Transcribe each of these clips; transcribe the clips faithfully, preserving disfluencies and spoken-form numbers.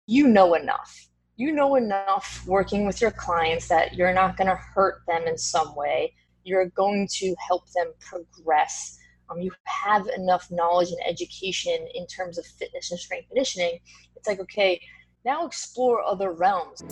you know enough. You know enough working with your clients that you're not going to hurt them in some way. You're going to help them progress. Um, you have enough knowledge and education in terms of fitness and strength conditioning. It's like, okay, now explore other realms.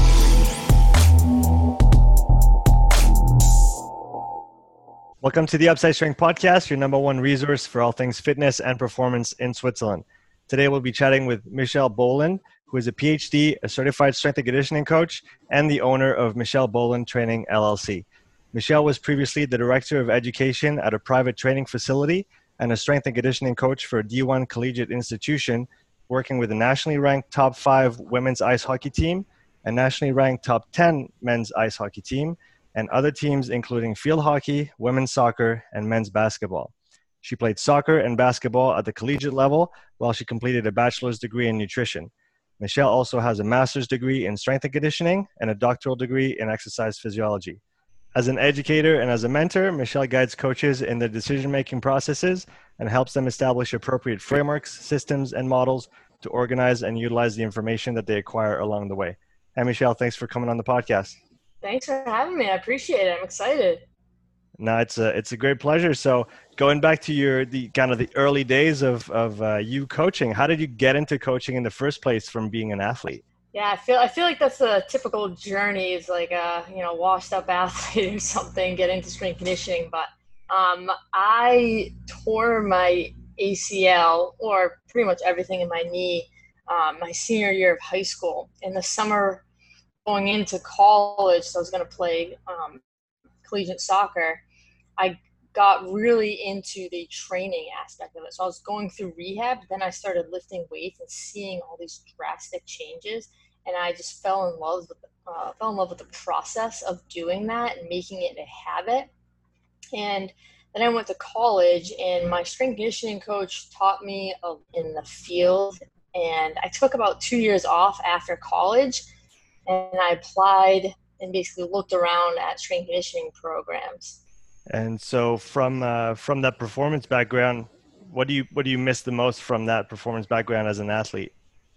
Welcome to the Upside Strength Podcast, your number one resource for all things fitness and performance in Switzerland. Today we'll be chatting with Michelle Boland, who is a P H D, a certified strength and conditioning coach, and the owner of Michelle Boland Training, L L C. Michelle was previously the director of education at a private training facility and a strength and conditioning coach for a D one collegiate institution, working with a nationally ranked top five women's ice hockey team, a nationally ranked top ten men's ice hockey team, and other teams including field hockey, women's soccer, and men's basketball. She played soccer and basketball at the collegiate level while she completed a bachelor's degree in nutrition. Michelle also has a master's degree in strength and conditioning and a doctoral degree in exercise physiology. As an educator and as a mentor, Michelle guides coaches in their decision-making processes and helps them establish appropriate frameworks, systems, and models to organize and utilize the information that they acquire along the way. Hey, Michelle, thanks for coming on the podcast. Thanks for having me. I appreciate it. I'm excited. No, it's a it's a great pleasure. So, going back to your the kind of the early days of of uh, you coaching, how did you get into coaching in the first place from being an athlete? Yeah, I feel I feel like that's a typical journey. It's like a you know washed up athlete or something get into strength conditioning. But um, I tore my A C L or pretty much everything in my knee um, my senior year of high school. In the summer going into college, so I was going to play um, collegiate soccer. I got really into the training aspect of it. So I was going through rehab, then I started lifting weights and seeing all these drastic changes, and I just fell in love with the, uh, fell in love with the process of doing that and making it a habit. And then I went to college, and my strength conditioning coach taught me uh, in the field, and I took about two years off after college. And I applied and basically looked around at strength conditioning programs. And so, from uh, from that performance background, what do you what do you miss the most from that performance background as an athlete?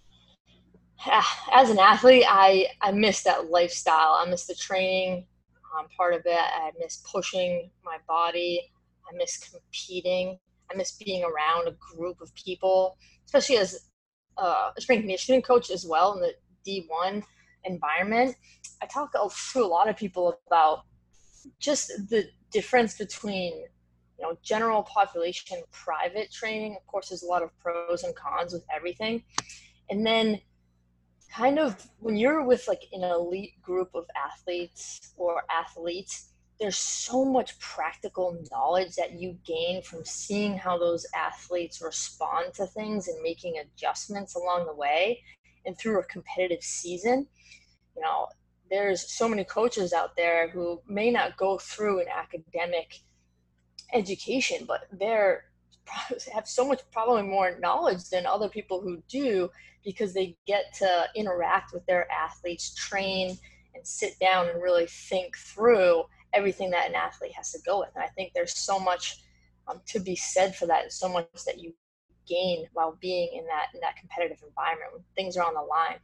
As an athlete, I I miss that lifestyle. I miss the training um, part of it. I miss pushing my body. I miss competing. I miss being around a group of people, especially as uh, a strength conditioning coach as well in the D one environment. I talk to a lot of people about just the difference between you know general population private training. Of course, there's a lot of pros and cons with everything, and then kind of when you're with like an elite group of athletes or athletes, there's so much practical knowledge that you gain from seeing how those athletes respond to things and making adjustments along the way and through a competitive season. You know, there's so many coaches out there who may not go through an academic education, but they're have so much probably more knowledge than other people who do, because they get to interact with their athletes, train and sit down and really think through everything that an athlete has to go with. And I think there's so much um, to be said for that, and so much that you gain while being in that in that competitive environment when things are on the line.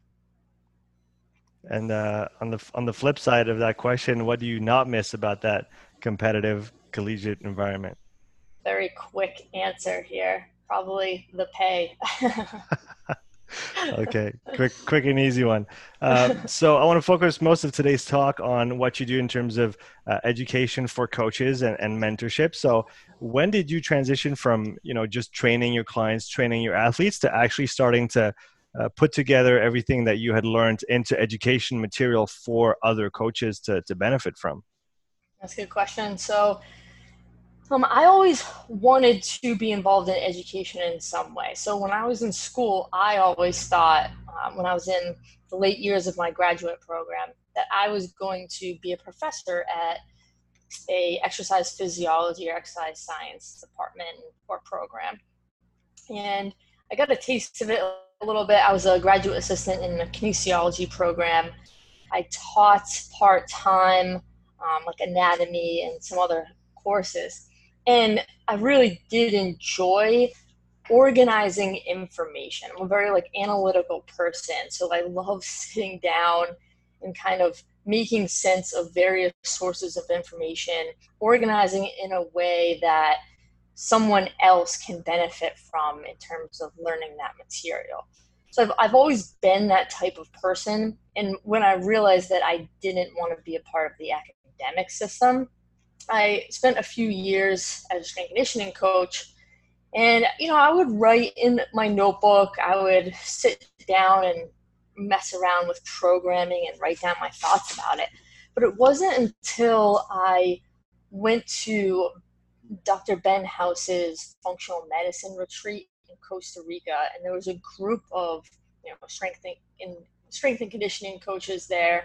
And uh, on the on the flip side of that question, what do you not miss about that competitive collegiate environment? Very quick answer here. Probably the pay. Okay, quick, quick and easy one. Uh, so I want to focus most of today's talk on what you do in terms of uh, education for coaches and, and mentorship. So when did you transition from, you know, just training your clients, training your athletes, to actually starting to uh, put together everything that you had learned into education material for other coaches to, to benefit from? That's a good question. So Um, I always wanted to be involved in education in some way. So when I was in school, I always thought, um, when I was in the late years of my graduate program, that I was going to be a professor at a exercise physiology or exercise science department or program. And I got a taste of it a little bit. I was a graduate assistant in the kinesiology program. I taught part-time, um, like anatomy and some other courses. And I really did enjoy organizing information. I'm a very like analytical person. So I love sitting down and kind of making sense of various sources of information, organizing it in a way that someone else can benefit from in terms of learning that material. So I've, I've always been that type of person. And when I realized that I didn't want to be a part of the academic system, I spent a few years as a strength conditioning coach. And, you know, I would write in my notebook, I would sit down and mess around with programming and write down my thoughts about it. But it wasn't until I went to Doctor Ben House's functional medicine retreat in Costa Rica, and there was a group of, you know, strength and, strength and conditioning coaches there.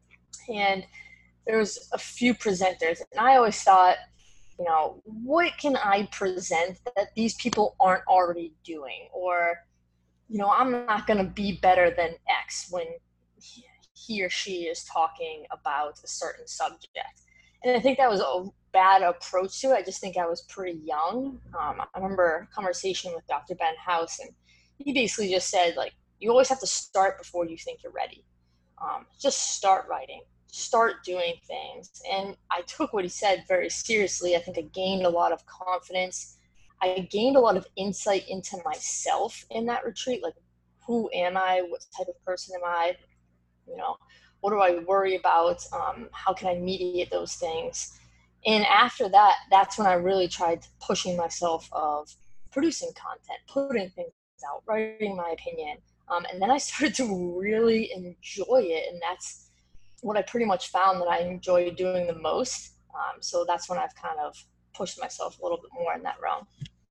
And there was a few presenters, and I always thought, you know, what can I present that these people aren't already doing? Or, you know, I'm not going to be better than X when he or she is talking about a certain subject. And I think that was a bad approach to it. I just think I was pretty young. Um, I remember a conversation with Doctor Ben House, and he basically just said, like, you always have to start before you think you're ready. Um, just start writing. Start doing things. And I took what he said very seriously. I think I gained a lot of confidence. I gained a lot of insight into myself in that retreat. Like, who am I? What type of person am I? You know, what do I worry about? Um, how can I mediate those things? And after that, that's when I really tried pushing myself of producing content, putting things out, writing my opinion. Um, and then I started to really enjoy it. And that's what I pretty much found that I enjoy doing the most. Um, so that's when I've kind of pushed myself a little bit more in that realm.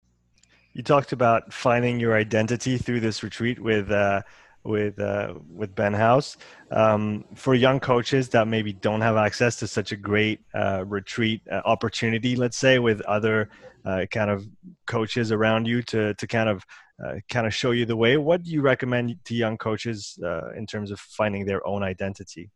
You talked about finding your identity through this retreat with uh, with uh, with Ben House. Um, for young coaches that maybe don't have access to such a great uh, retreat uh, opportunity, let's say, with other uh, kind of coaches around you to to kind of uh, kind of show you the way, what do you recommend to young coaches uh, in terms of finding their own identity?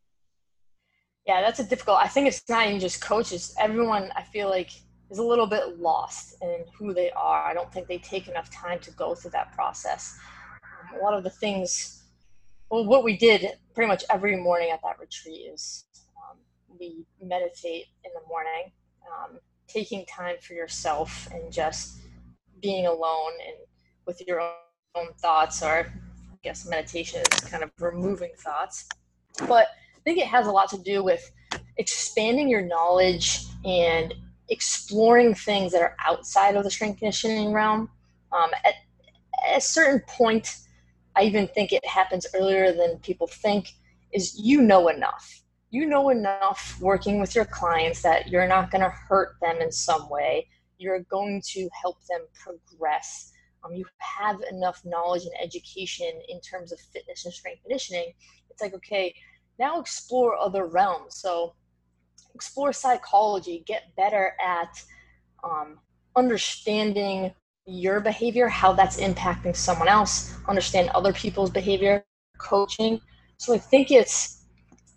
Yeah, that's a difficult. I think it's not even just coaches. Everyone, I feel like, is a little bit lost in who they are. I don't think they take enough time to go through that process. Um, a lot of the things, well, what we did pretty much every morning at that retreat is um, we meditate in the morning, um, taking time for yourself and just being alone and with your own, own thoughts, or I guess meditation is kind of removing thoughts. But I think it has a lot to do with expanding your knowledge and exploring things that are outside of the strength conditioning realm. Um, at, at a certain point, I even think it happens earlier than people think, is you know enough. You know enough working with your clients that you're not going to hurt them in some way. You're going to help them progress. Um, you have enough knowledge and education in terms of fitness and strength conditioning. It's like, okay, now explore other realms. So explore psychology, get better at um, understanding your behavior, how that's impacting someone else, understand other people's behavior, coaching. So I think it's,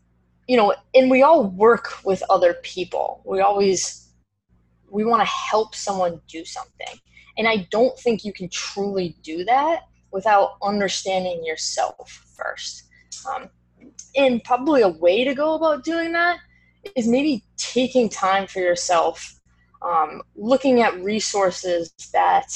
you know, and we all work with other people. We always, we want to help someone do something. And I don't think you can truly do that without understanding yourself first. Um, and probably a way to go about doing that is maybe taking time for yourself, um, looking at resources that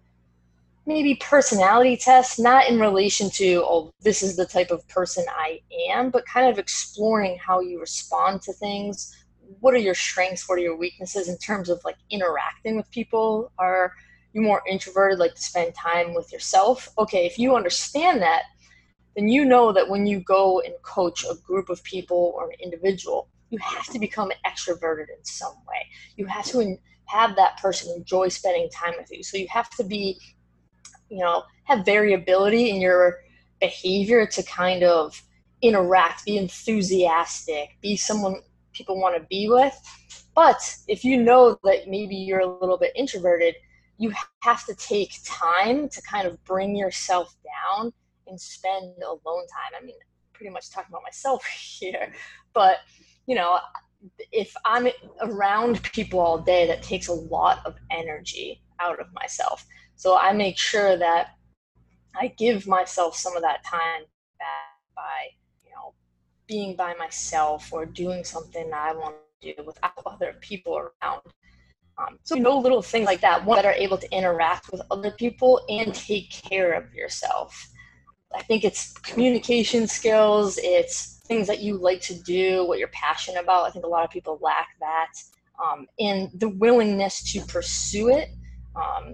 maybe personality tests, not in relation to, oh, this is the type of person I am, but kind of exploring how you respond to things. What are your strengths? What are your weaknesses in terms of like interacting with people? Are you more introverted, like to spend time with yourself? Okay, if you understand that, then you know that when you go and coach a group of people or an individual, you have to become extroverted in some way. You have to have that person enjoy spending time with you. So you have to be, you know, have variability in your behavior to kind of interact, be enthusiastic, be someone people want to be with. But if you know that maybe you're a little bit introverted, you have to take time to kind of bring yourself down and spend alone time. I mean, pretty much talking about myself here, but you know, if I'm around people all day, that takes a lot of energy out of myself. So I make sure that I give myself some of that time back by, you know, being by myself or doing something that I want to do without other people around. Um, so, you know, little things like that, one, that are able to interact with other people and take care of yourself. I think it's communication skills, it's things that you like to do, what you're passionate about. I think a lot of people lack that, um, and the willingness to pursue it. Um,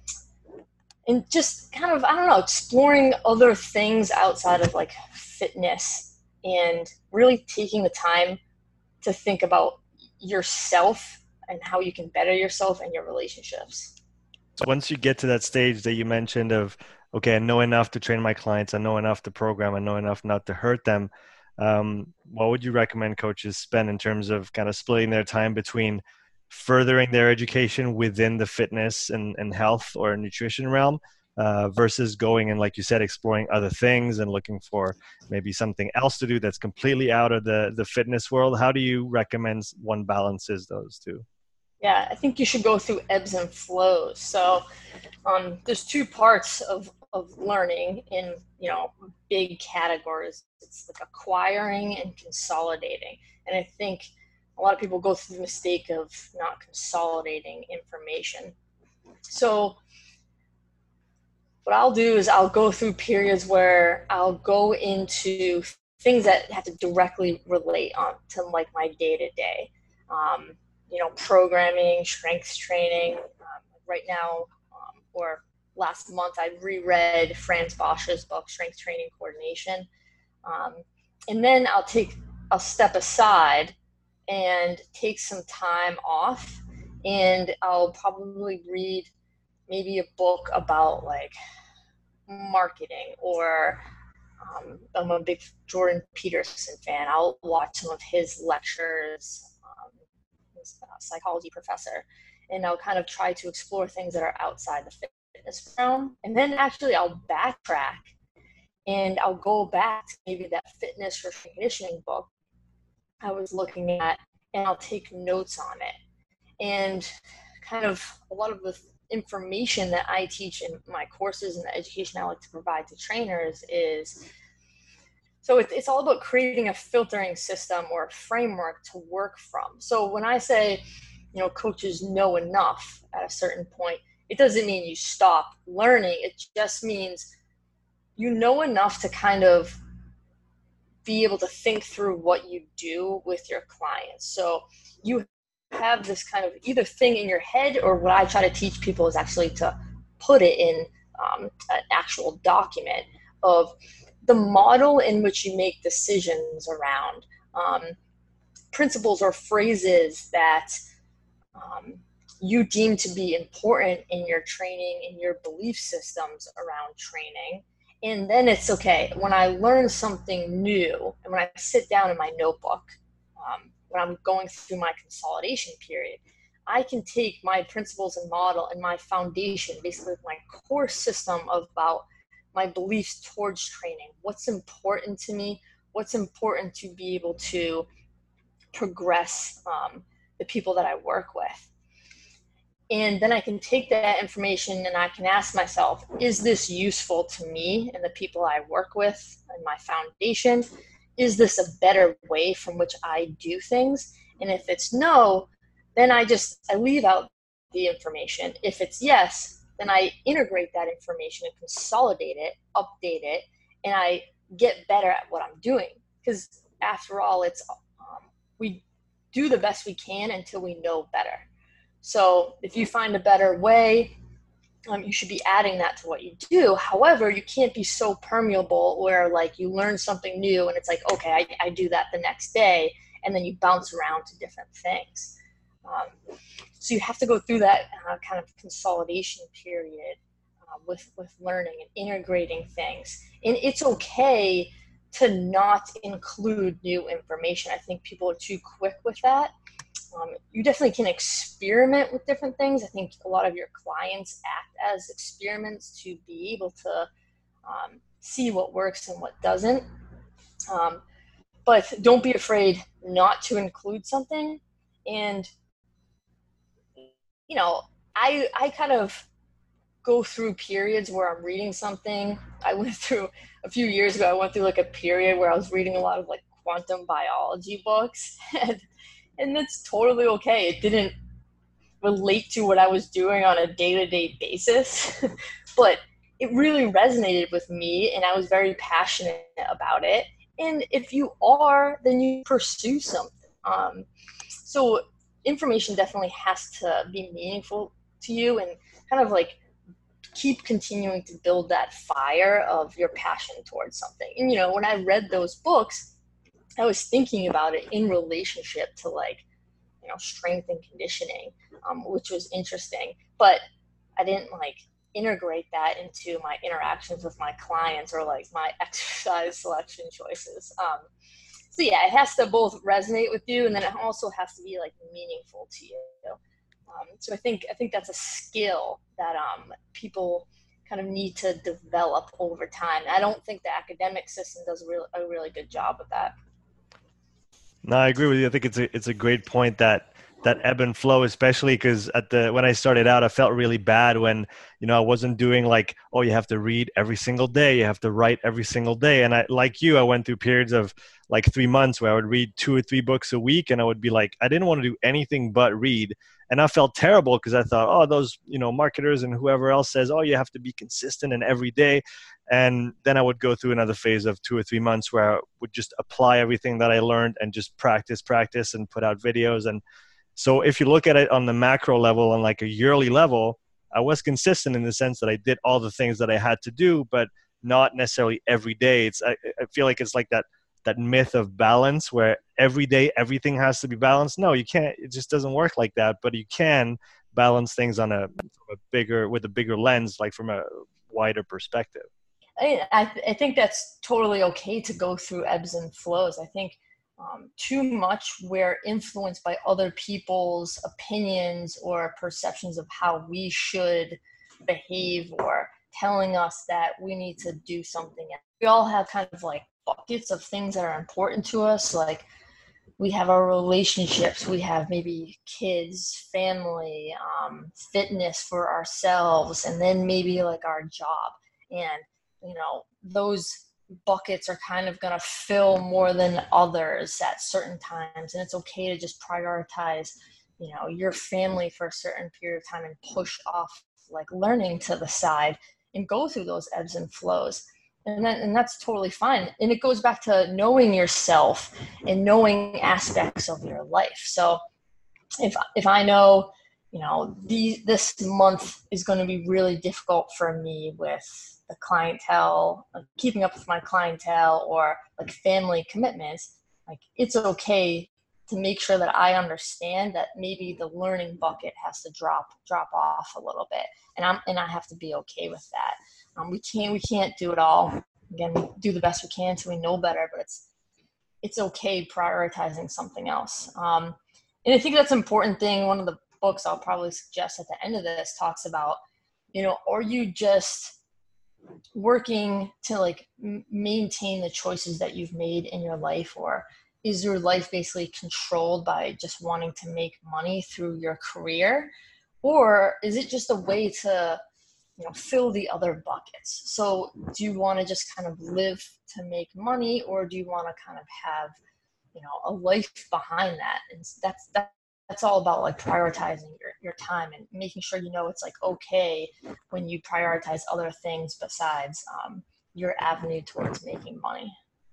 and just kind of, I don't know, exploring other things outside of like fitness and really taking the time to think about yourself and how you can better yourself and your relationships. So once you get to that stage that you mentioned of, okay, I know enough to train my clients, I know enough to program, I know enough not to hurt them, um, what would you recommend coaches spend in terms of kind of splitting their time between furthering their education within the fitness and, and health or nutrition realm uh, versus going and, like you said, exploring other things and looking for maybe something else to do that's completely out of the, the fitness world? How do you recommend one balances those two? Yeah, I think you should go through ebbs and flows. So um, there's two parts of, of learning in, you know, big categories. It's like acquiring and consolidating. And I think a lot of people go through the mistake of not consolidating information. So what I'll do is I'll go through periods where I'll go into things that have to directly relate on to like my day to day. You know, programming, strength training. Um, right now, um, or last month, I reread Franz Bosch's book, Strength Training Coordination. Um, and then I'll take, I'll step aside and take some time off, and I'll probably read maybe a book about like marketing, or um, I'm a big Jordan Peterson fan. I'll watch some of his lectures, um, his uh, psychology professor, and I'll kind of try to explore things that are outside the fitness realm. And then actually I'll backtrack and I'll go back to maybe that fitness or conditioning book I was looking at, and I'll take notes on it. And kind of a lot of the information that I teach in my courses and the education I like to provide to trainers is, so it's all about creating a filtering system or a framework to work from. So when I say, you know, coaches know enough at a certain point, it doesn't mean you stop learning. It just means you know enough to kind of be able to think through what you do with your clients. So you have this kind of either thing in your head, or what I try to teach people is actually to put it in um, an actual document of the model in which you make decisions around um, principles or phrases that um, you deem to be important in your training, in your belief systems around training. And then it's okay, when I learn something new and when I sit down in my notebook, um, when I'm going through my consolidation period, I can take my principles and model and my foundation, basically my core system about my beliefs towards training, what's important to me, what's important to be able to progress um, the people that I work with. And then I can take that information and I can ask myself, is this useful to me and the people I work with and my foundation? Is this a better way from which I do things? And if it's no, then I just, I leave out the information. If it's yes, then I integrate that information and consolidate it, update it, and I get better at what I'm doing. Because after all, it's um, we do the best we can until we know better. So if you find a better way, um, you should be adding that to what you do. However, you can't be so permeable where like you learn something new and it's like, okay, I, I do that the next day, and then you bounce around to different things. Um, so you have to go through that uh, kind of consolidation period uh, with, with learning and integrating things. And it's okay to not include new information. I think people are too quick with that. Um, you definitely can experiment with different things. I think a lot of your clients act as experiments to be able to um, see what works and what doesn't. Um, but don't be afraid not to include something. And, you know, I, I kind of go through periods where I'm reading something. I went through a few years ago, I went through like a period where I was reading a lot of like quantum biology books, and, and that's totally okay. It didn't relate to what I was doing on a day-to-day basis, but it really resonated with me and I was very passionate about it. And if you are, then you pursue something. Um, so information definitely has to be meaningful to you and kind of like keep continuing to build that fire of your passion towards something. And, you know, when I read those books, I was thinking about it in relationship to like, you know, strength and conditioning, um, which was interesting, but I didn't like integrate that into my interactions with my clients or like my exercise selection choices. Um, so yeah, it has to both resonate with you, and then it also has to be like meaningful to you. Um, so I think I think that's a skill that um, people kind of need to develop over time. I don't think the academic system does a, real, a really good job of that. No, I agree with you. I think it's a it's a great point that that ebb and flow, especially because at the when I started out, I felt really bad when, you know, I wasn't doing like, oh, you have to read every single day, you have to write every single day. And I, like you, I went through periods of like three months where I would read two or three books a week, and I would be like, I didn't want to do anything but read. And I felt terrible because I thought, oh, those, you know, marketers and whoever else says, oh, you have to be consistent and every day. And then I would go through another phase of two or three months where I would just apply everything that I learned and just practice, practice and put out videos. And so if you look at it on the macro level, on like a yearly level, I was consistent in the sense that I did all the things that I had to do, but not necessarily every day. It's, I, I feel like it's like that, that myth of balance where every day everything has to be balanced. No, you can't. It just doesn't work like that, but you can balance things on a, a bigger, with a bigger lens, like from a wider perspective. I, I, th- I think that's totally okay to go through ebbs and flows. I think um, too much we're influenced by other people's opinions or perceptions of how we should behave, or telling us that we need to do something. We all have kind of like buckets of things that are important to us. Like we have our relationships, we have maybe kids, family, um, fitness for ourselves, and then maybe like our job. And you know, those buckets are kind of going to fill more than others at certain times. And it's okay to just prioritize, you know, your family for a certain period of time and push off like learning to the side and go through those ebbs and flows. And then, and that's totally fine. And it goes back to knowing yourself and knowing aspects of your life. So if, if I know, you know, the, this month is going to be really difficult for me with the clientele, like keeping up with my clientele or like family commitments, like it's okay to make sure that I understand that maybe the learning bucket has to drop, drop off a little bit. And I'm, and I have to be okay with that. Um, we can't, we can't do it all. Again, we do the best we can so we know better, but it's, it's okay prioritizing something else. Um, and I think that's an important thing. One of the books I'll probably suggest at the end of this talks about, you know, are you just working to like m- maintain the choices that you've made in your life, or is your life basically controlled by just wanting to make money through your career, or is it just a way to, you know, fill the other buckets? So do you want to just kind of live to make money, or do you want to kind of have, you know, a life behind that? And that's that that's all about like prioritizing your, your time and making sure, you know, it's like okay when you prioritize other things besides um, your avenue towards making money.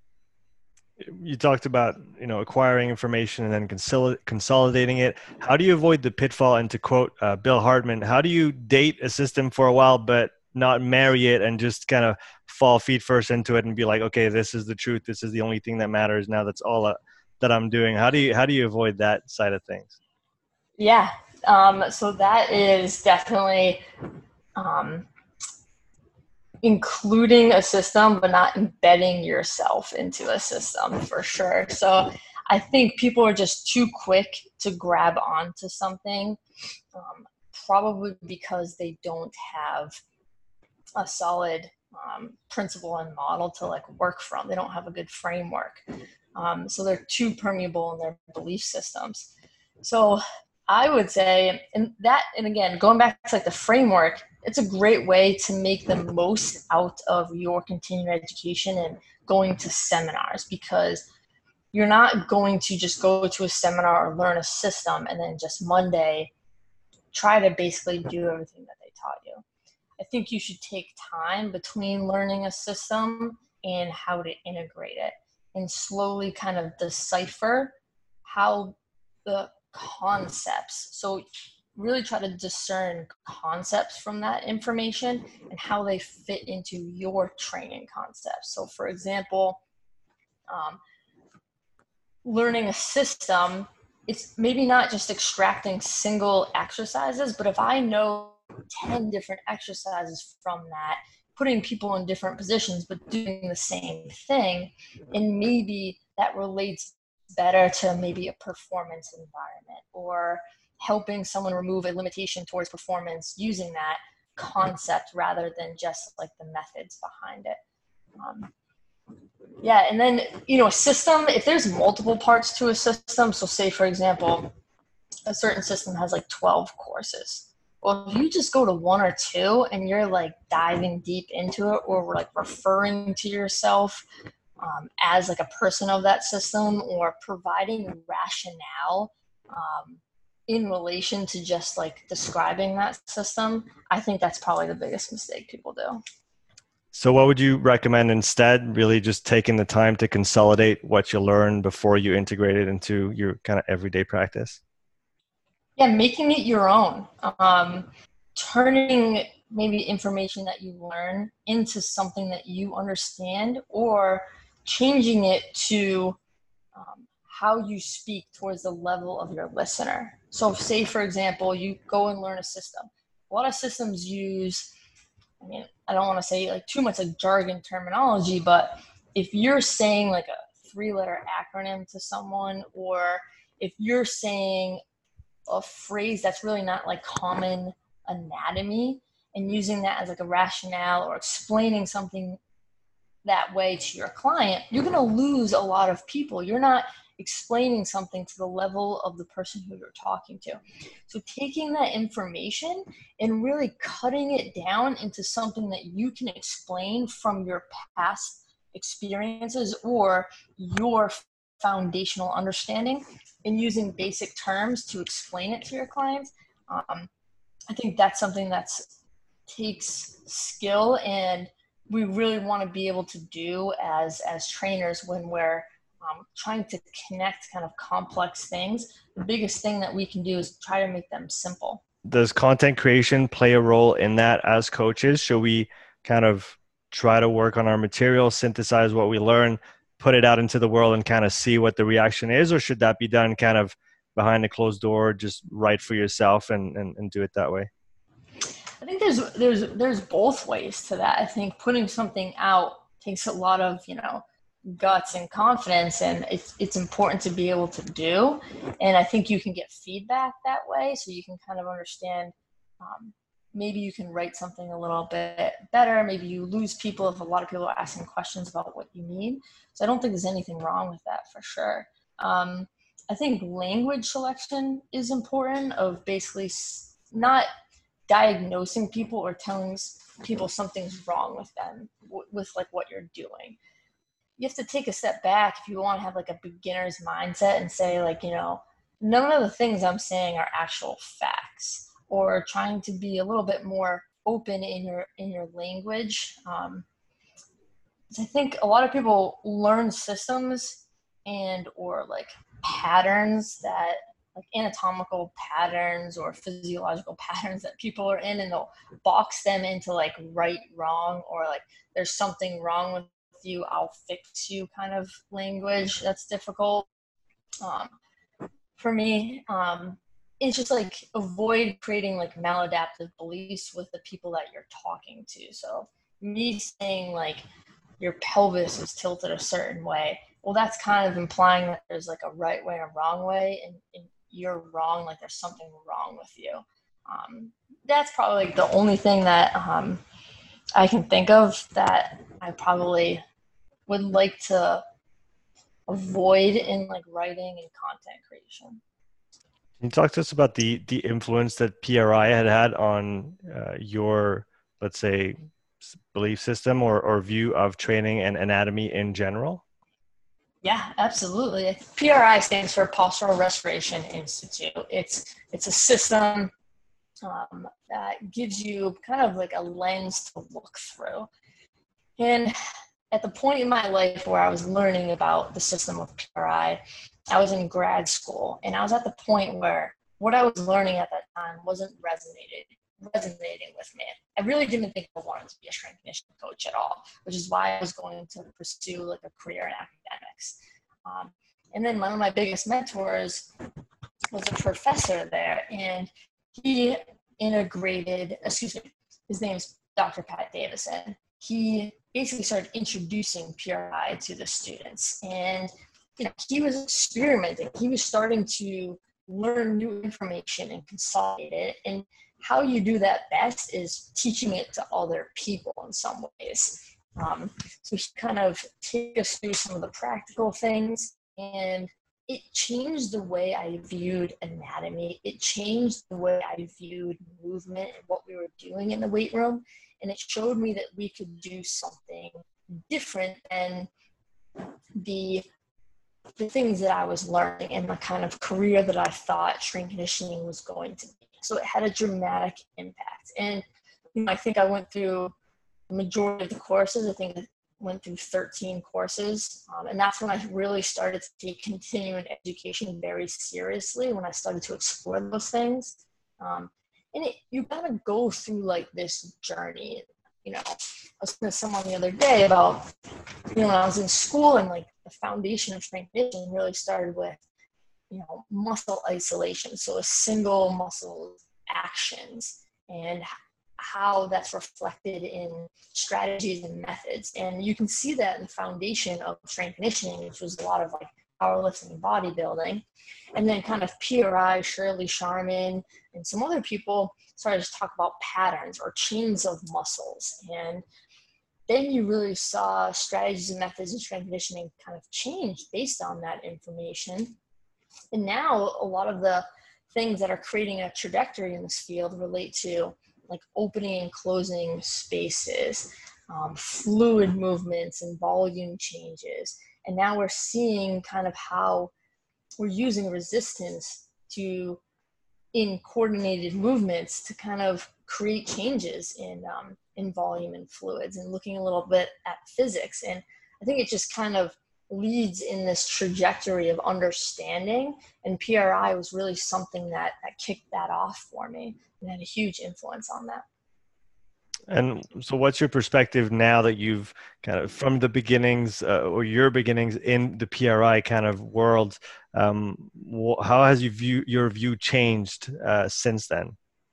You talked about, you know, acquiring information and then consol- consolidating it. How do you avoid the pitfall? And to quote uh, Bill Hartman, how do you date a system for a while but not marry it and just kind of fall feet first into it and be like, okay, this is the truth, this is the only thing that matters now, that's all uh, that I'm doing? How do you how do you avoid that side of things? Yeah, um, so that is definitely um, including a system, but not embedding yourself into a system for sure. So I think people are just too quick to grab onto something, um, probably because they don't have a solid um, principle and model to like work from. They don't have a good framework. Um, so they're too permeable in their belief systems. So I would say, and that, and again, going back to like the framework, it's a great way to make the most out of your continuing education and going to seminars, because you're not going to just go to a seminar or learn a system and then just Monday try to basically do everything that they taught you. I think you should take time between learning a system and how to integrate it, and slowly kind of decipher how the concepts, so really try to discern concepts from that information and how they fit into your training concepts. So for example, um, learning a system, it's maybe not just extracting single exercises, but if I know ten different exercises from that, putting people in different positions but doing the same thing, and maybe that relates better to maybe a performance environment, or helping someone remove a limitation towards performance using that concept rather than just like the methods behind it. Um, yeah, and then, you know, a system, if there's multiple parts to a system, so say, for example, a certain system has like twelve courses. Well, if you just go to one or two and you're like diving deep into it, or like referring to yourself um, as like a person of that system, or providing rationale um, in relation to just like describing that system, I think that's probably the biggest mistake people do. So what would you recommend instead? Really just taking the time to consolidate what you learn before you integrate it into your kind of everyday practice? Yeah, making it your own. Um, turning maybe information that you learn into something that you understand, or changing it to um, how you speak towards the level of your listener. So say, for example, you go and learn a system. A lot of systems use, I mean, I don't want to say like too much like jargon terminology, but if you're saying like a three letter acronym to someone, or if you're saying a phrase that's really not like common anatomy and using that as like a rationale, or explaining something that way to your client, you're going to lose a lot of people. You're not explaining something to the level of the person who you're talking to. So taking that information and really cutting it down into something that you can explain from your past experiences or your foundational understanding, and using basic terms to explain it to your clients. Um, I think that's something that takes skill, and we really want to be able to do as as trainers when we're um, trying to connect kind of complex things. The biggest thing that we can do is try to make them simple. Does content creation play a role in that as coaches? Should we kind of try to work on our material, synthesize what we learn, put it out into the world and kind of see what the reaction is? Or should that be done kind of behind a closed door, just write for yourself and, and, and do it that way? I think there's there's there's both ways to that. I think putting something out takes a lot of, you know, guts and confidence, and it's it's important to be able to do. And I think you can get feedback that way, so you can kind of understand. Um, maybe you can write something a little bit better. Maybe you lose people if a lot of people are asking questions about what you mean. So I don't think there's anything wrong with that for sure. Um, I think language selection is important, of basically not diagnosing people or telling people something's wrong with them w- with like what you're doing. You have to take a step back if you want to have like a beginner's mindset and say, like, you know, none of the things I'm saying are actual facts, or trying to be a little bit more open in your in your language. Um, I think a lot of people learn systems and or like patterns that like anatomical patterns or physiological patterns that people are in, and they'll box them into like right, wrong, or like there's something wrong with you, I'll fix you kind of language. That's difficult. Um, for me, um, it's just like avoid creating like maladaptive beliefs with the people that you're talking to. So me saying like your pelvis is tilted a certain way, well, that's kind of implying that there's like a right way and a wrong way, and, and you're wrong, like there's something wrong with you. Um, that's probably like the only thing that um, I can think of that I probably would like to avoid in like writing and content creation. Can you talk to us about the the influence that P R I had had on uh, your, let's say, s- belief system or, or view of training and anatomy in general? Yeah, absolutely. P R I stands for Postural Restoration Institute. It's it's a system um, that gives you kind of like a lens to look through. And at the point in my life where I was learning about the system of P R I, I was in grad school, and I was at the point where what I was learning at that time wasn't resonated resonating with me. I really didn't think I wanted to be a strength conditioning coach at all, which is why I was going to pursue like a career in academics. Um, and then one of my biggest mentors was a professor there, and he integrated, excuse me, his name is Doctor Pat Davison. He basically started introducing P R I to the students, and you know, he was experimenting. He was starting to learn new information and consolidate it. And how you do that best is teaching it to other people in some ways. Um, so he kind of take us through some of the practical things, and it changed the way I viewed anatomy. It changed the way I viewed movement and what we were doing in the weight room. And it showed me that we could do something different than the the things that I was learning and the kind of career that I thought strength conditioning was going to be. So it had a dramatic impact. And you know, I think I went through the majority of the courses. I think I went through thirteen courses. Um, and that's when I really started to take continuing education very seriously, when I started to explore those things. Um, and it, you kind of go through like this journey. You know, I was talking to someone the other day about, you know, when I was in school, and like the foundation of strength conditioning really started with, you know, muscle isolation. So a single muscle actions and how that's reflected in strategies and methods. And you can see that in the foundation of strength conditioning, which was a lot of like powerlifting and bodybuilding. And then kind of P R I, Shirley Sharman, and some other people started to talk about patterns or chains of muscles. And then you really saw strategies and methods in strength conditioning kind of change based on that information. And now a lot of the things that are creating a trajectory in this field relate to like opening and closing spaces, um, fluid movements and volume changes. And now we're seeing kind of how we're using resistance to in coordinated movements to kind of create changes in um, in volume and fluids, and looking a little bit at physics. And I think it just kind of leads in this trajectory of understanding, and P R I was really something that, that kicked that off for me and had a huge influence on that. And so what's your perspective now that you've kind of from the beginnings uh, or your beginnings in the P R I kind of world, um, wh- how has you view, your view changed uh, since then?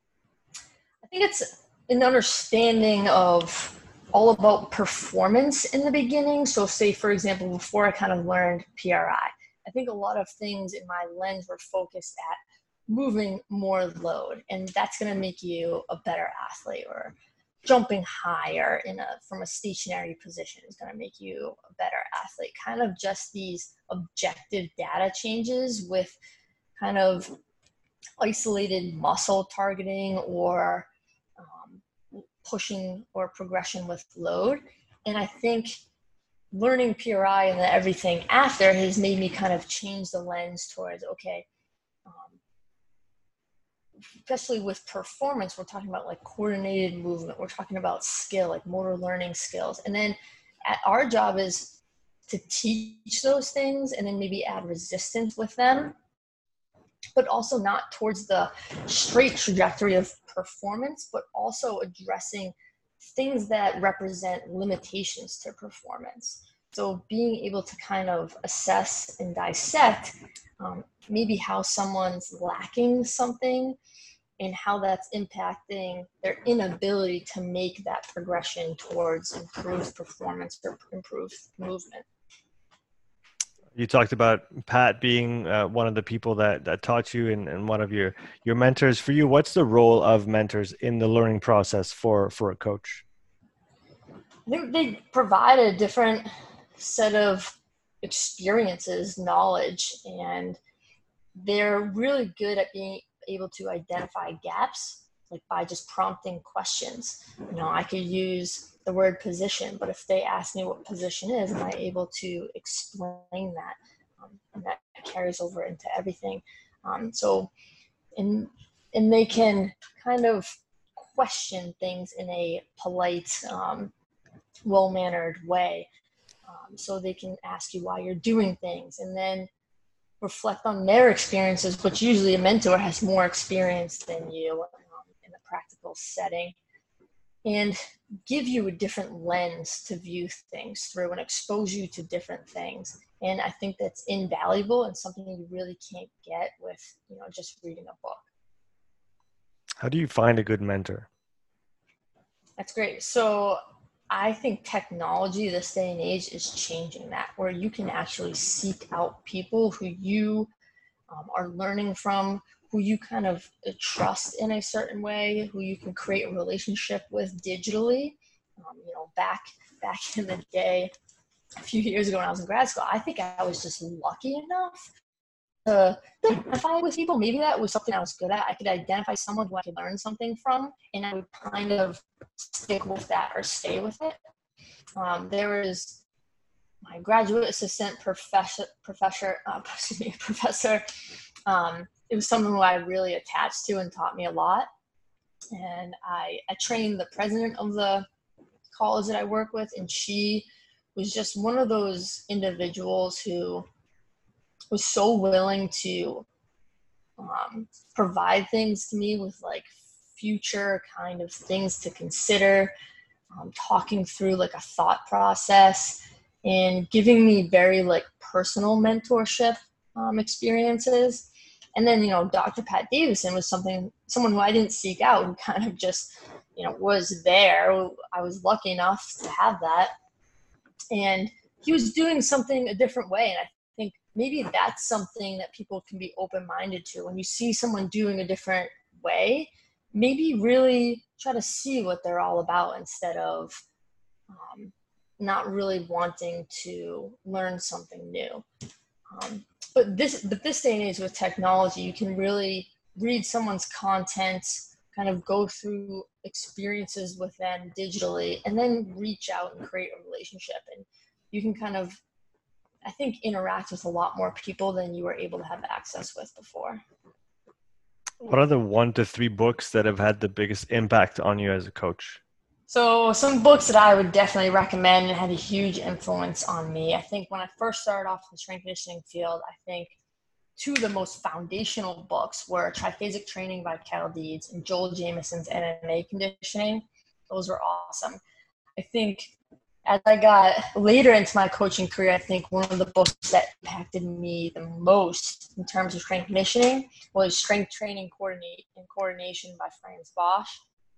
I think it's an understanding of all about performance in the beginning. So say, for example, before I kind of learned P R I, I think a lot of things in my lens were focused at moving more load, and that's going to make you a better athlete, or jumping higher in a from a stationary position is going to make you a better athlete. Kind of just these objective data changes with kind of isolated muscle targeting or um, pushing or progression with load. And I think learning P R I and then everything after has made me kind of change the lens towards, okay, um, especially with performance, we're talking about like coordinated movement. We're talking about skill, like motor learning skills. And then our job is to teach those things and then maybe add resistance with them, but also not towards the straight trajectory of performance, but also addressing things that represent limitations to performance. So being able to kind of assess and dissect um, maybe how someone's lacking something and how that's impacting their inability to make that progression towards improved performance or improved movement. You talked about Pat being uh, one of the people that, that taught you and, and one of your, your mentors. For you, what's the role of mentors in the learning process for, for a coach? I think they provide a different set of experiences, knowledge, and they're really good at being able to identify gaps, like by just prompting questions. You know, I could use the word position, but if they ask me what position is, am I able to explain that? Um, and that carries over into everything. Um, so, and, and they can kind of question things in a polite, um, well-mannered way. Um, so they can ask you why you're doing things, and then reflect on their experiences, which usually a mentor has more experience than you um, in a practical setting, and give you a different lens to view things through and expose you to different things. And I think that's invaluable and something you really can't get with, you know, just reading a book. How do you find a good mentor? That's great. So I think technology this day and age is changing that, where you can actually seek out people who you um, are learning from, who you kind of trust in a certain way, who you can create a relationship with digitally. Um, you know, back back in the day, a few years ago when I was in grad school, I think I was just lucky enough to identify with people. Maybe that was something I was good at. I could identify someone who I could learn something from, and I would kind of stick with that or stay with it. Um, there was my graduate assistant professor, professor, uh, excuse me, professor. Um, it was someone who I really attached to and taught me a lot. And I, I trained the president of the college that I work with, and she was just one of those individuals who was so willing to um, provide things to me with like future kind of things to consider, um, talking through like a thought process, and giving me very like personal mentorship um, experiences. And then, you know, Doctor Pat Davison was something, someone who I didn't seek out, who kind of just, you know, was there. I was lucky enough to have that. And he was doing something a different way. And I think maybe that's something that people can be open-minded to. When you see someone doing a different way, maybe really try to see what they're all about instead of um, not really wanting to learn something new. Um, but this, but this day and age with technology, you can really read someone's content, kind of go through experiences with them digitally, and then reach out and create a relationship. And you can kind of, I think, interact with a lot more people than you were able to have access with before. What are the one to three books that have had the biggest impact on you as a coach? So some books that I would definitely recommend and had a huge influence on me. I think when I first started off in the strength conditioning field, I think two of the most foundational books were Triphasic Training by Cal Deeds and Joel Jamieson's M M A Conditioning. Those were awesome. I think as I got later into my coaching career, I think one of the books that impacted me the most in terms of strength conditioning was Strength Training Coordinate and Coordination by Franz Bosch.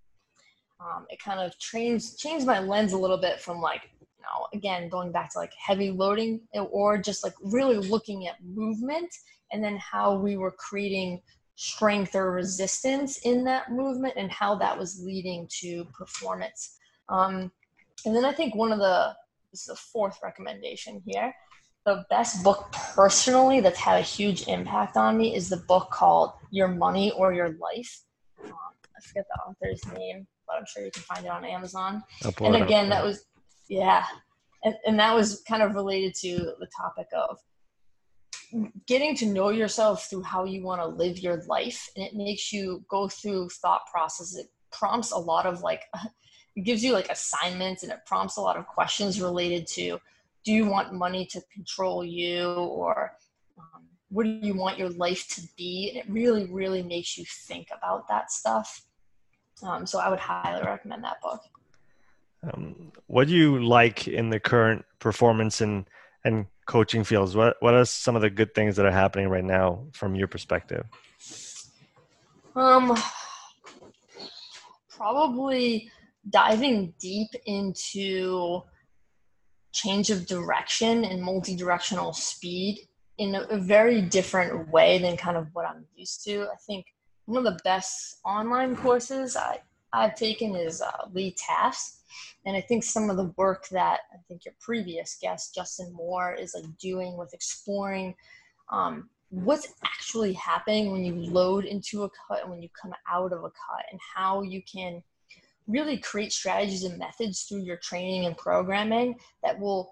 Um, it kind of trains, changed my lens a little bit from like, you know, again, going back to like heavy loading, or just like really looking at movement and then how we were creating strength or resistance in that movement and how that was leading to performance. Um, and then I think one of the, this is the fourth recommendation here, the best book personally that's had a huge impact on me is the book called Your Money or Your Life. Um, I forget the author's name, but I'm sure you can find it on Amazon. And again, that was, yeah. And, and that was kind of related to the topic of getting to know yourself through how you want to live your life. And it makes you go through thought processes. It prompts a lot of like, it gives you like assignments, and it prompts a lot of questions related to, do you want money to control you, or um, what do you want your life to be? And it really, really makes you think about that stuff. Um, so I would highly recommend that book. Um, what do you like in the current performance and, and coaching fields? What, what are some of the good things that are happening right now from your perspective? Um, probably diving deep into change of direction and multi-directional speed in a, a very different way than kind of what I'm used to. I think one of the best online courses I, I've taken is uh, Lee Taft's. And I think some of the work that I think your previous guest, Justin Moore, is like doing with exploring um, what's actually happening when you load into a cut and when you come out of a cut, and how you can really create strategies and methods through your training and programming that will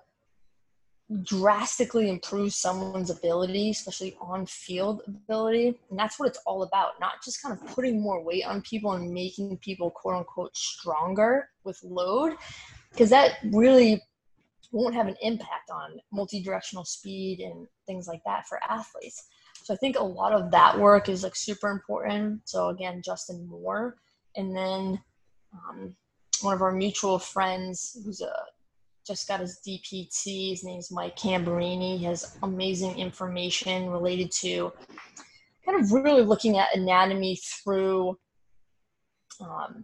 drastically improve someone's ability, especially on-field ability. And that's what it's all about, not just kind of putting more weight on people and making people quote unquote stronger with load, because that really won't have an impact on multi-directional speed and things like that for athletes. So I think a lot of that work is like super important. So again, Justin Moore, and then um, one of our mutual friends who's a just got his D P T. His name's Mike Camberini. He has amazing information related to kind of really looking at anatomy through um,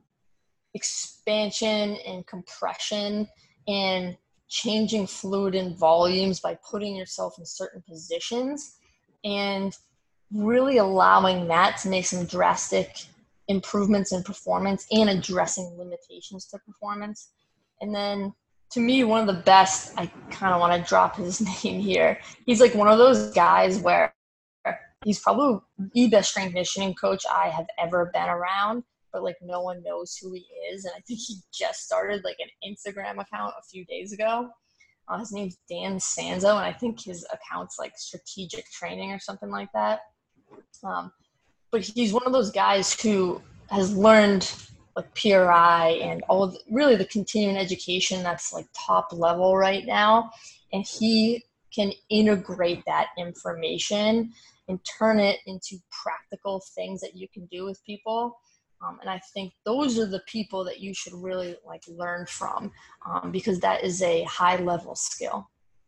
expansion and compression and changing fluid and volumes by putting yourself in certain positions, and really allowing that to make some drastic improvements in performance and addressing limitations to performance. And then to me, one of the best, I kind of want to drop his name here. He's like one of those guys where he's probably the best strength conditioning coach I have ever been around, but like no one knows who he is. And I think he just started like an Instagram account a few days ago. Uh, his name's Dan Sanzo, and I think his account's like Strategic Training or something like that. Um, but he's one of those guys who has learned like P R I and all of the, really the continuing education that's like top level right now. And he can integrate that information and turn it into practical things that you can do with people. Um, and I think those are the people that you should really like learn from, um, because that is a high level skill.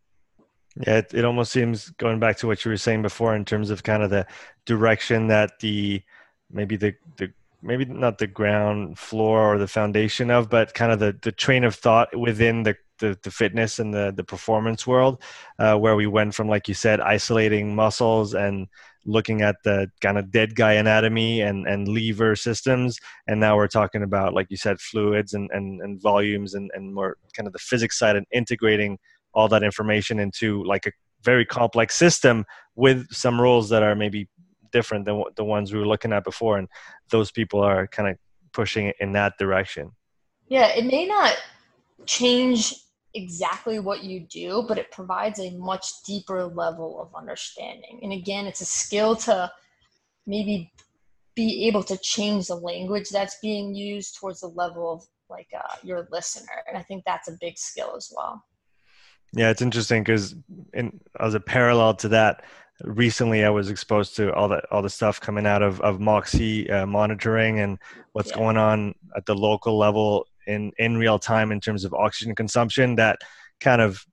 Yeah, it, it almost seems, going back to what you were saying before, in terms of kind of the direction that the, maybe the, the maybe not the ground floor or the foundation of, but kind of the, the train of thought within the, the, the fitness and the, the performance world, uh, where we went from, like you said, isolating muscles and looking at the kind of dead guy anatomy and, and lever systems. And now we're talking about, like you said, fluids and, and, and volumes and, and more kind of the physics side, and integrating all that information into like a very complex system with some rules that are maybe different than the ones we were looking at before. And those people are kind of pushing it in that direction. Yeah, it may not change exactly what you do, but it provides a much deeper level of understanding. And again, it's a skill to maybe be able to change the language that's being used towards the level of like uh, your listener. And I think that's a big skill as well. Yeah, it's interesting because in as a parallel to that, recently I was exposed to all that all the stuff coming out of of Moxy uh, monitoring and what's Yeah. going on at the local level in in real time in terms of oxygen consumption. That kind of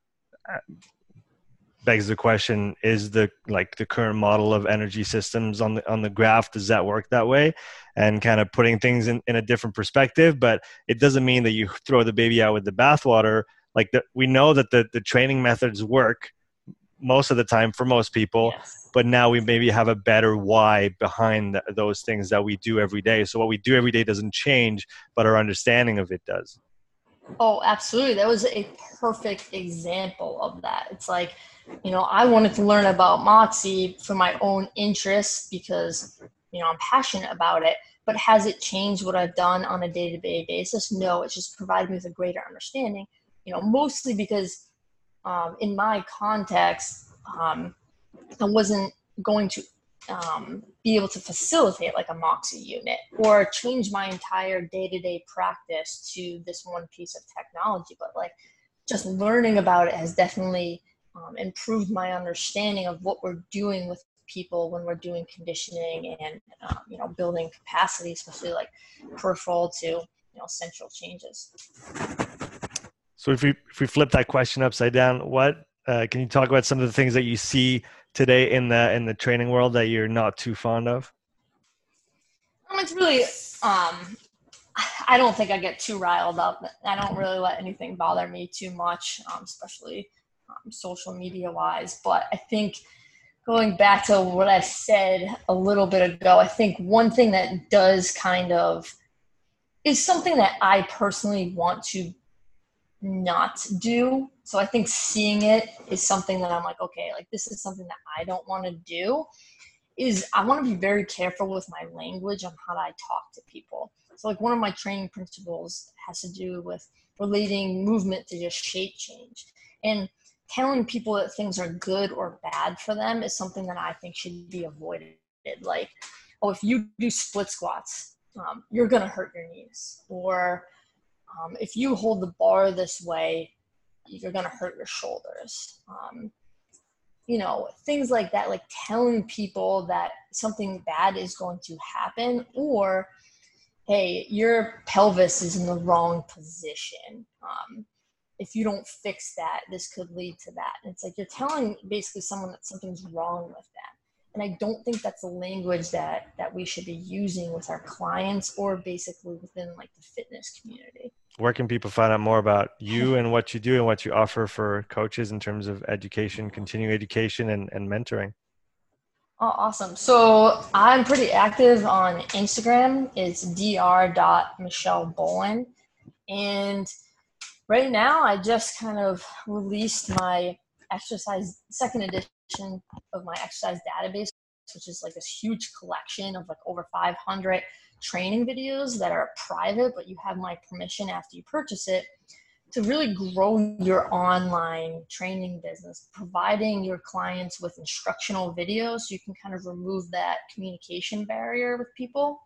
begs the question: is the like the current model of energy systems on the on the graph, does that work that way? And kind of putting things in, in a different perspective, but it doesn't mean that you throw the baby out with the bathwater. Like the, we know that the, the training methods work most of the time for most people, Yes. but now we maybe have a better why behind the, those things that we do every day. So what we do every day doesn't change, but our understanding of it does. Oh, absolutely. That was a perfect example of that. It's like, you know, I wanted to learn about Moxy for my own interests because, you know, I'm passionate about it. But has it changed what I've done on a day-to-day basis? No, it's just provided me with a greater understanding, you know, mostly because um, in my context, um, I wasn't going to um, be able to facilitate like a Moxy unit or change my entire day-to-day practice to this one piece of technology. But like just learning about it has definitely um, improved my understanding of what we're doing with people when we're doing conditioning and, um, you know, building capacity, especially like peripheral to, you know, central changes. So if we, if we flip that question upside down, what, uh, can you talk about some of the things that you see today in the in the training world that you're not too fond of? Um, it's really, um, I don't think I get too riled up. I don't really let anything bother me too much, um, especially um, social media wise. But I think going back to what I said a little bit ago, I think one thing that does kind of is something that I personally want to not do. So I think seeing it is something that I'm like, okay, like this is something that I don't want to do. Is I want to be very careful with my language on how I talk to people. So like one of my training principles has to do with relating movement to just shape change. And telling people that things are good or bad for them is something that I think should be avoided. Like, oh, if you do split squats, um, you're going to hurt your knees. Or um, if you hold the bar this way, you're going to hurt your shoulders. Um, you know, things like that, like telling people that something bad is going to happen, or, hey, your pelvis is in the wrong position. Um, if you don't fix that, this could lead to that. And it's like you're telling basically someone that something's wrong with them. And I don't think that's the language that, that we should be using with our clients or basically within like the fitness community. Where can people find out more about you and what you do and what you offer for coaches in terms of education, continuing education, and, and mentoring? Oh, awesome. So I'm pretty active on Instagram. It's dr dot michelle boland. And right now I just kind of released my exercise, second edition of my exercise database, which is like this huge collection of like over five hundred training videos that are private, but you have my permission after you purchase it to really grow your online training business, providing your clients with instructional videos so you can kind of remove that communication barrier with people.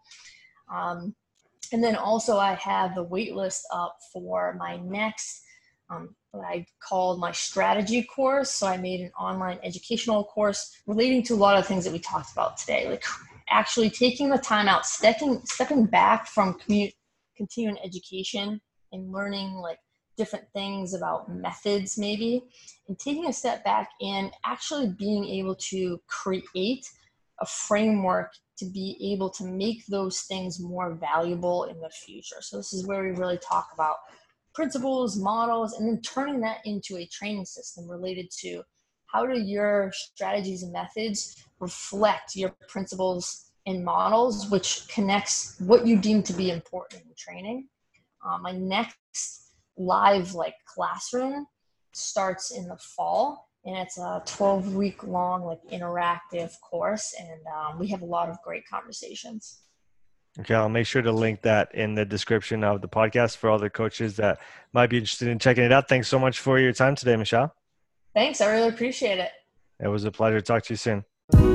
Um, and then also I have the wait list up for my next, um, what I called my strategy course. So I made an online educational course relating to a lot of things that we talked about today, like actually taking the time out, stepping, stepping back from commu- continuing education and learning like different things about methods maybe, and taking a step back and actually being able to create a framework to be able to make those things more valuable in the future. So this is where we really talk about principles, models, and then turning that into a training system related to how do your strategies and methods reflect your principles and models, which connects what you deem to be important in training. Um, my next live like classroom starts in the fall, and it's a twelve week long like interactive course, and um, we have a lot of great conversations. Okay, I'll make sure to link that in the description of the podcast for all the coaches that might be interested in checking it out. Thanks so much for your time today, Michelle. Thanks, I really appreciate it. It was a pleasure to talk to you soon.